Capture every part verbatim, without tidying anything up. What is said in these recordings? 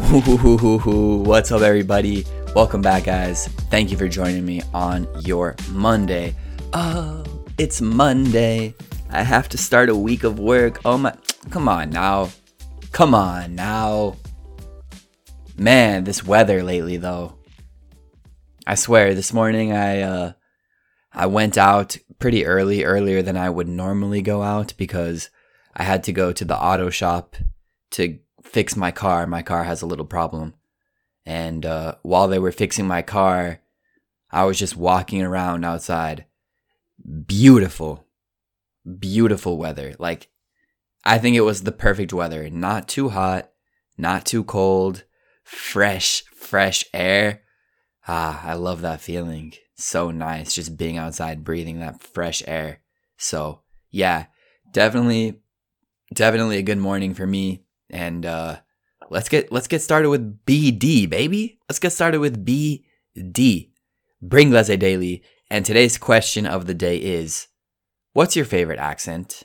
What's up, everybody? Welcome back, guys. Thank you for joining me on your Monday. Oh, it's Monday. I have to start a week of work. Oh my, come on now. Come on now. Man, this weather lately, though. I swear, this morning I uh I went out pretty early, earlier than I would normally go out because I had to go to the auto shop to fix my car. My car has a little problem. And uh, while they were fixing my car, I was just walking around outside. Beautiful, beautiful weather. Like, I think it was the perfect weather. Not too hot, not too cold, fresh, fresh air. Ah, I love that feeling. So nice just being outside, breathing that fresh air. So, yeah, definitely, definitely a good morning for me. And uh, let's get let's get started with B D, baby. Let's get started with B D. Bring Leze Daily. And today's question of the day is, what's your favorite accent?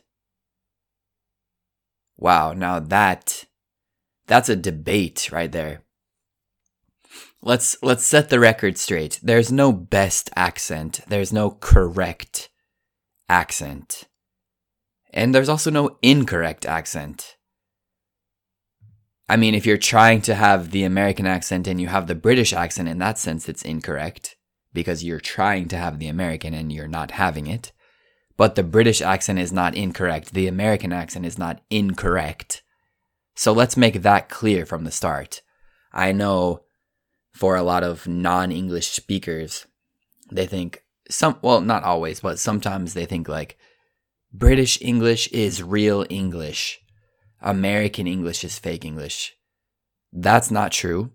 Wow, now that that's a debate right there. Let's let's set the record straight. There's no best accent. There's no correct accent. And there's also no incorrect accent. I mean, if you're trying to have the American accent and you have the British accent, in that sense, it's incorrect because you're trying to have the American and you're not having it. But the British accent is not incorrect. The American accent is not incorrect. So let's make that clear from the start. I know for a lot of non-English speakers, they think some, well, not always, but sometimes they think like British English is real English. American English is fake English. That's not true.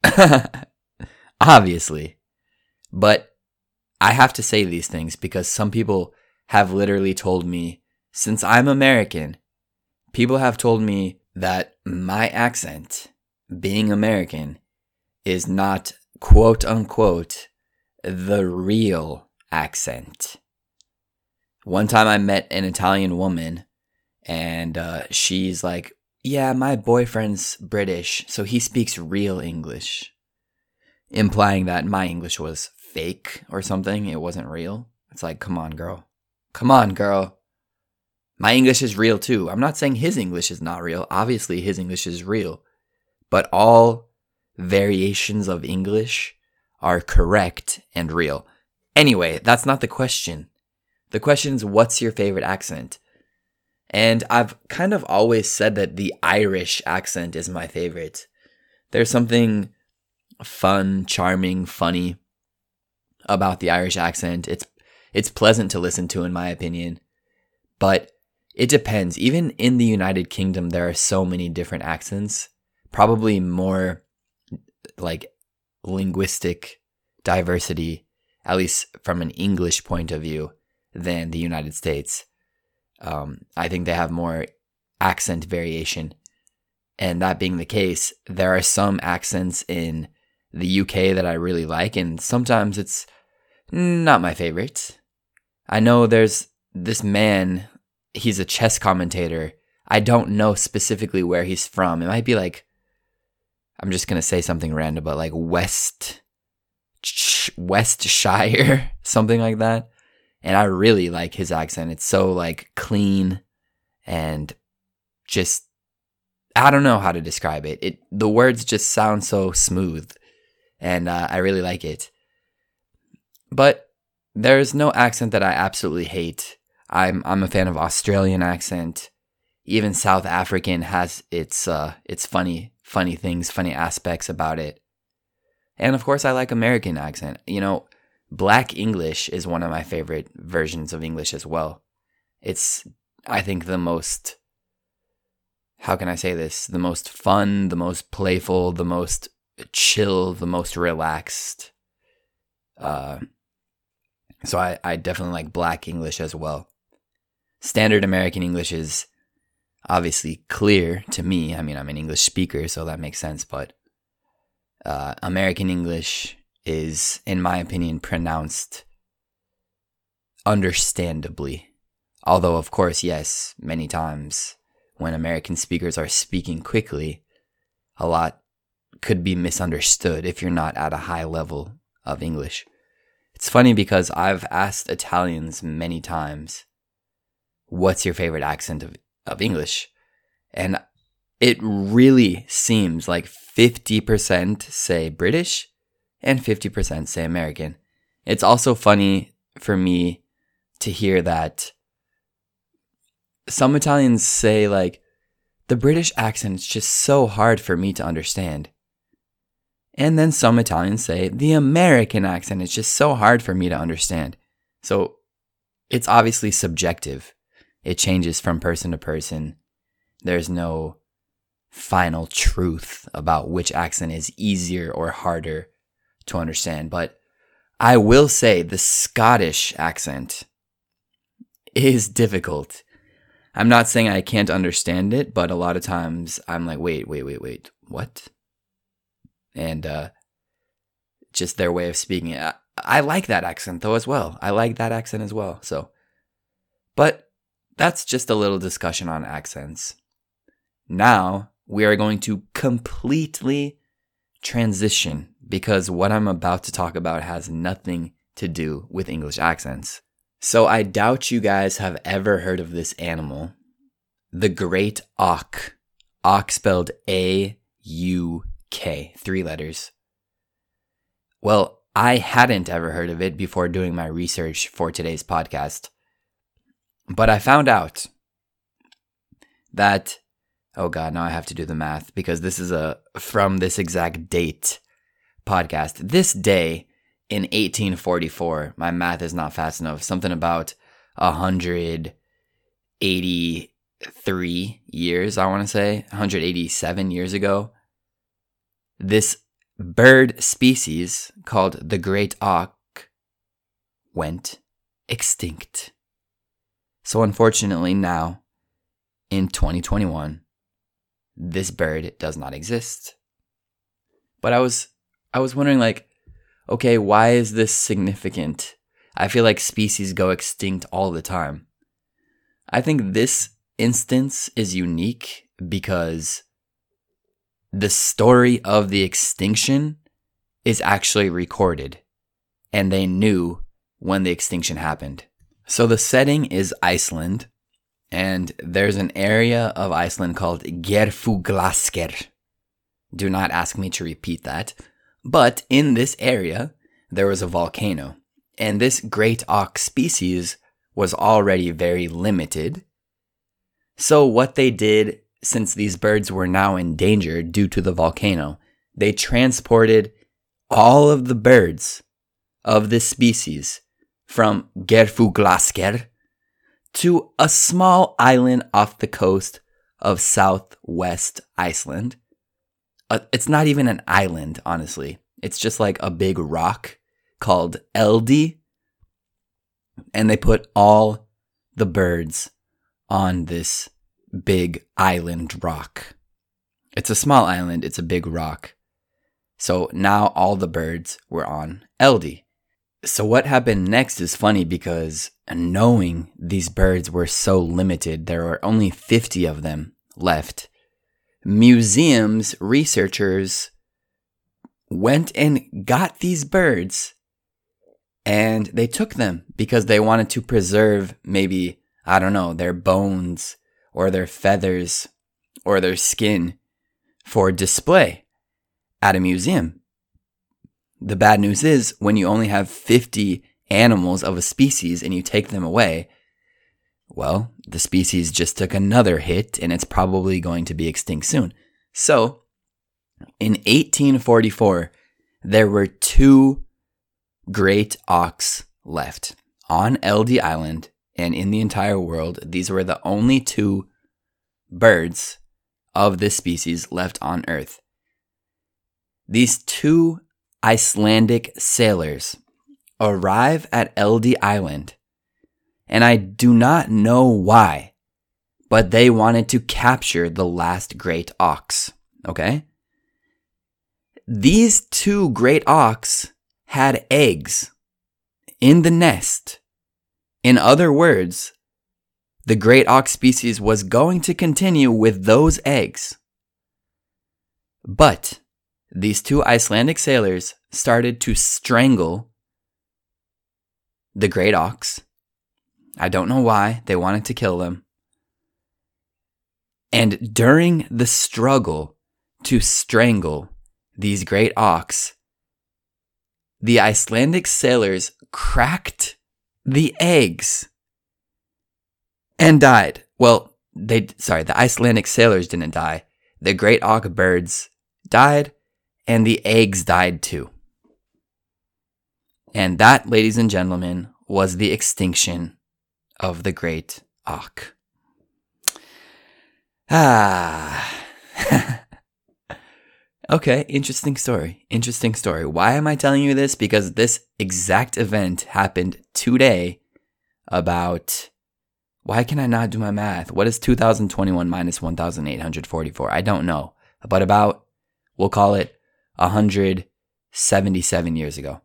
Obviously. But I have to say these things because some people have literally told me, since I'm American, people have told me that my accent, being American, is not quote unquote the real accent. One time I met an Italian woman. And uh, she's like, yeah, my boyfriend's British, so he speaks real English. Implying that my English was fake or something. It wasn't real. It's like, come on, girl. Come on, girl. My English is real too. I'm not saying his English is not real. Obviously, his English is real. But all variations of English are correct and real. Anyway, that's not the question. The question is, what's your favorite accent? And I've kind of always said that the Irish accent is my favorite. There's something fun, charming, funny about the Irish accent. It's it's pleasant to listen to, in my opinion. But it depends. Even in the United Kingdom, there are so many different accents. Probably more like linguistic diversity, at least from an English point of view, than the United States. Um, I think they have more accent variation. And that being the case, there are some accents in the U K that I really like, and sometimes it's not my favorite. I know there's this man, he's a chess commentator. I don't know specifically where he's from. It might be like, I'm just going to say something random, but like West, Westshire, something like that. And I really like his accent. It's so like clean and just, I don't know how to describe it. It the words just sound so smooth, and uh, I really like it. But there's no accent that I absolutely hate. I'm I'm a fan of Australian accent. Even South African has its uh its funny funny things, funny aspects about it. And of course, I like American accent. You know, Black English is one of my favorite versions of English as well. It's, I think, the most, how can I say this? The most fun, the most playful, the most chill, the most relaxed. Uh, so I, I definitely like Black English as well. Standard American English is obviously clear to me. I mean, I'm an English speaker, so that makes sense. But uh, American English is, in my opinion, pronounced understandably. Although, of course, yes, many times when American speakers are speaking quickly, a lot could be misunderstood if you're not at a high level of English. It's funny because I've asked Italians many times, what's your favorite accent of, of English? And it really seems like fifty percent say British and fifty percent say American. It's also funny for me to hear that some Italians say, like, the British accent is just so hard for me to understand. And then some Italians say, the American accent is just so hard for me to understand. So it's obviously subjective. It changes from person to person. There's no final truth about which accent is easier or harder to understand. But I will say the Scottish accent is difficult. I'm not saying I can't understand it, but a lot of times I'm like, wait, wait, wait, wait, what? And uh, just their way of speaking it. I, I like that accent though as well. I like that accent as well. So, but that's just a little discussion on accents. Now we are going to completely transition because what I'm about to talk about has nothing to do with English accents. So I doubt you guys have ever heard of this animal, the great auk. Auk spelled A U K, three letters. Well, I hadn't ever heard of it before doing my research for today's podcast. But I found out that, oh God, now I have to do the math because this is a from this exact date podcast. This day in eighteen forty-four, my math is not fast enough, something about one hundred eighty-three years, I want to say, one hundred eighty-seven years ago, this bird species called the great auk went extinct. So unfortunately now, in twenty twenty-one, this bird does not exist. But I was I was wondering, like, okay, why is this significant? I feel like species go extinct all the time. I think this instance is unique because the story of the extinction is actually recorded, and they knew when the extinction happened. So the setting is Iceland, and there's an area of Iceland called Geirfuglasker. Do not ask me to repeat that. But in this area, there was a volcano, and this great auk species was already very limited. So what they did, since these birds were now endangered due to the volcano, they transported all of the birds of this species from Geirfuglasker to a small island off the coast of southwest Iceland. Uh, it's not even an island, honestly. It's just like a big rock called Eldey. And they put all the birds on this big island rock. It's a small island. It's a big rock. So now all the birds were on Eldey. So what happened next is funny because knowing these birds were so limited, there were only fifty of them left. Museums, researchers went and got these birds and they took them because they wanted to preserve maybe, I don't know, their bones or their feathers or their skin for display at a museum. The bad news is when you only have fifty animals of a species and you take them away, well, the species just took another hit and it's probably going to be extinct soon. So, in eighteen forty-four, there were two great auks left on Eldey Island, and in the entire world, these were the only two birds of this species left on Earth. These two Icelandic sailors arrive at Eldey Island, and I do not know why, but they wanted to capture the last great auks, okay? These two great auks had eggs in the nest. In other words, the great auk species was going to continue with those eggs. But these two Icelandic sailors started to strangle the great ox. I don't know why. They wanted to kill them. And during the struggle to strangle these great ox, the Icelandic sailors cracked the eggs and died. Well, they sorry, the Icelandic sailors didn't die. The great auk birds died, and the eggs died too. And that, ladies and gentlemen, was the extinction of the great auk. Ah. Okay, interesting story. Interesting story. Why am I telling you this? Because this exact event happened today about... Why can I not do my math? What is two thousand twenty-one minus one thousand eight hundred forty-four? I don't know. But about, we'll call it one hundred seventy-seven years ago.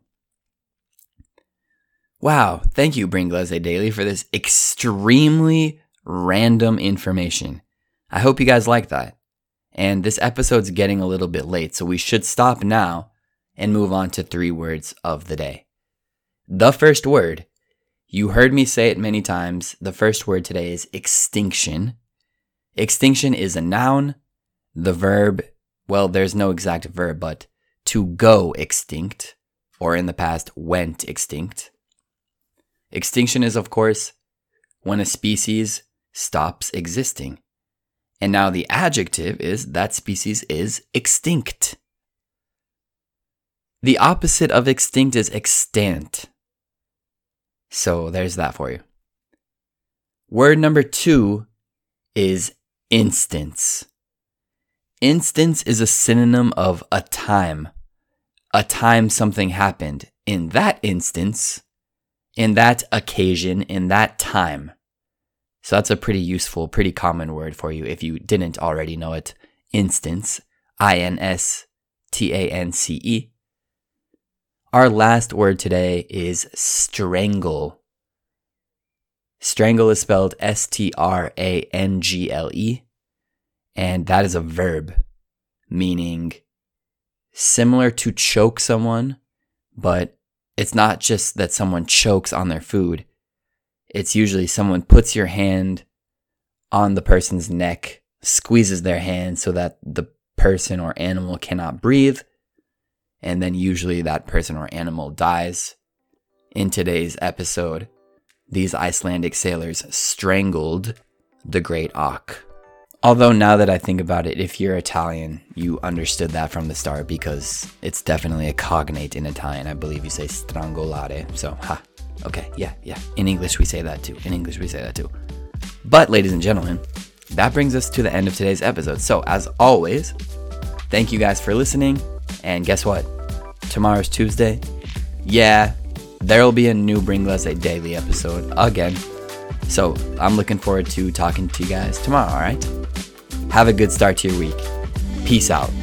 Wow. Thank you, Bringlese Daily, for this extremely random information. I hope you guys like that. And this episode's getting a little bit late, so we should stop now and move on to three words of the day. The first word, you heard me say it many times. The first word today is extinction. Extinction is a noun. The verb, well, there's no exact verb, but to go extinct, or in the past, went extinct. Extinction is, of course, when a species stops existing. And now the adjective is that species is extinct. The opposite of extinct is extant. So there's that for you. Word number two is instance. Instance is a synonym of a time. A time something happened. In that instance, in that occasion, in that time. So that's a pretty useful, pretty common word for you if you didn't already know it. Instance. I N S T A N C E. Our last word today is strangle. Strangle is spelled S T R A N G L E. And that is a verb, meaning similar to choke someone, but it's not just that someone chokes on their food. It's usually someone puts your hand on the person's neck, squeezes their hand so that the person or animal cannot breathe, and then usually that person or animal dies. In today's episode, these Icelandic sailors strangled the great auk. Although now that I think about it, if you're Italian, you understood that from the start because it's definitely a cognate in Italian. I believe you say strangolare, so ha. Okay, yeah, yeah. In English, we say that too. In English, we say that too. But, ladies and gentlemen, that brings us to the end of today's episode. So, as always, thank you guys for listening. And guess what? Tomorrow's Tuesday. Yeah, there will be a new Bringlese Daily episode again. So, I'm looking forward to talking to you guys tomorrow, all right? Have a good start to your week. Peace out.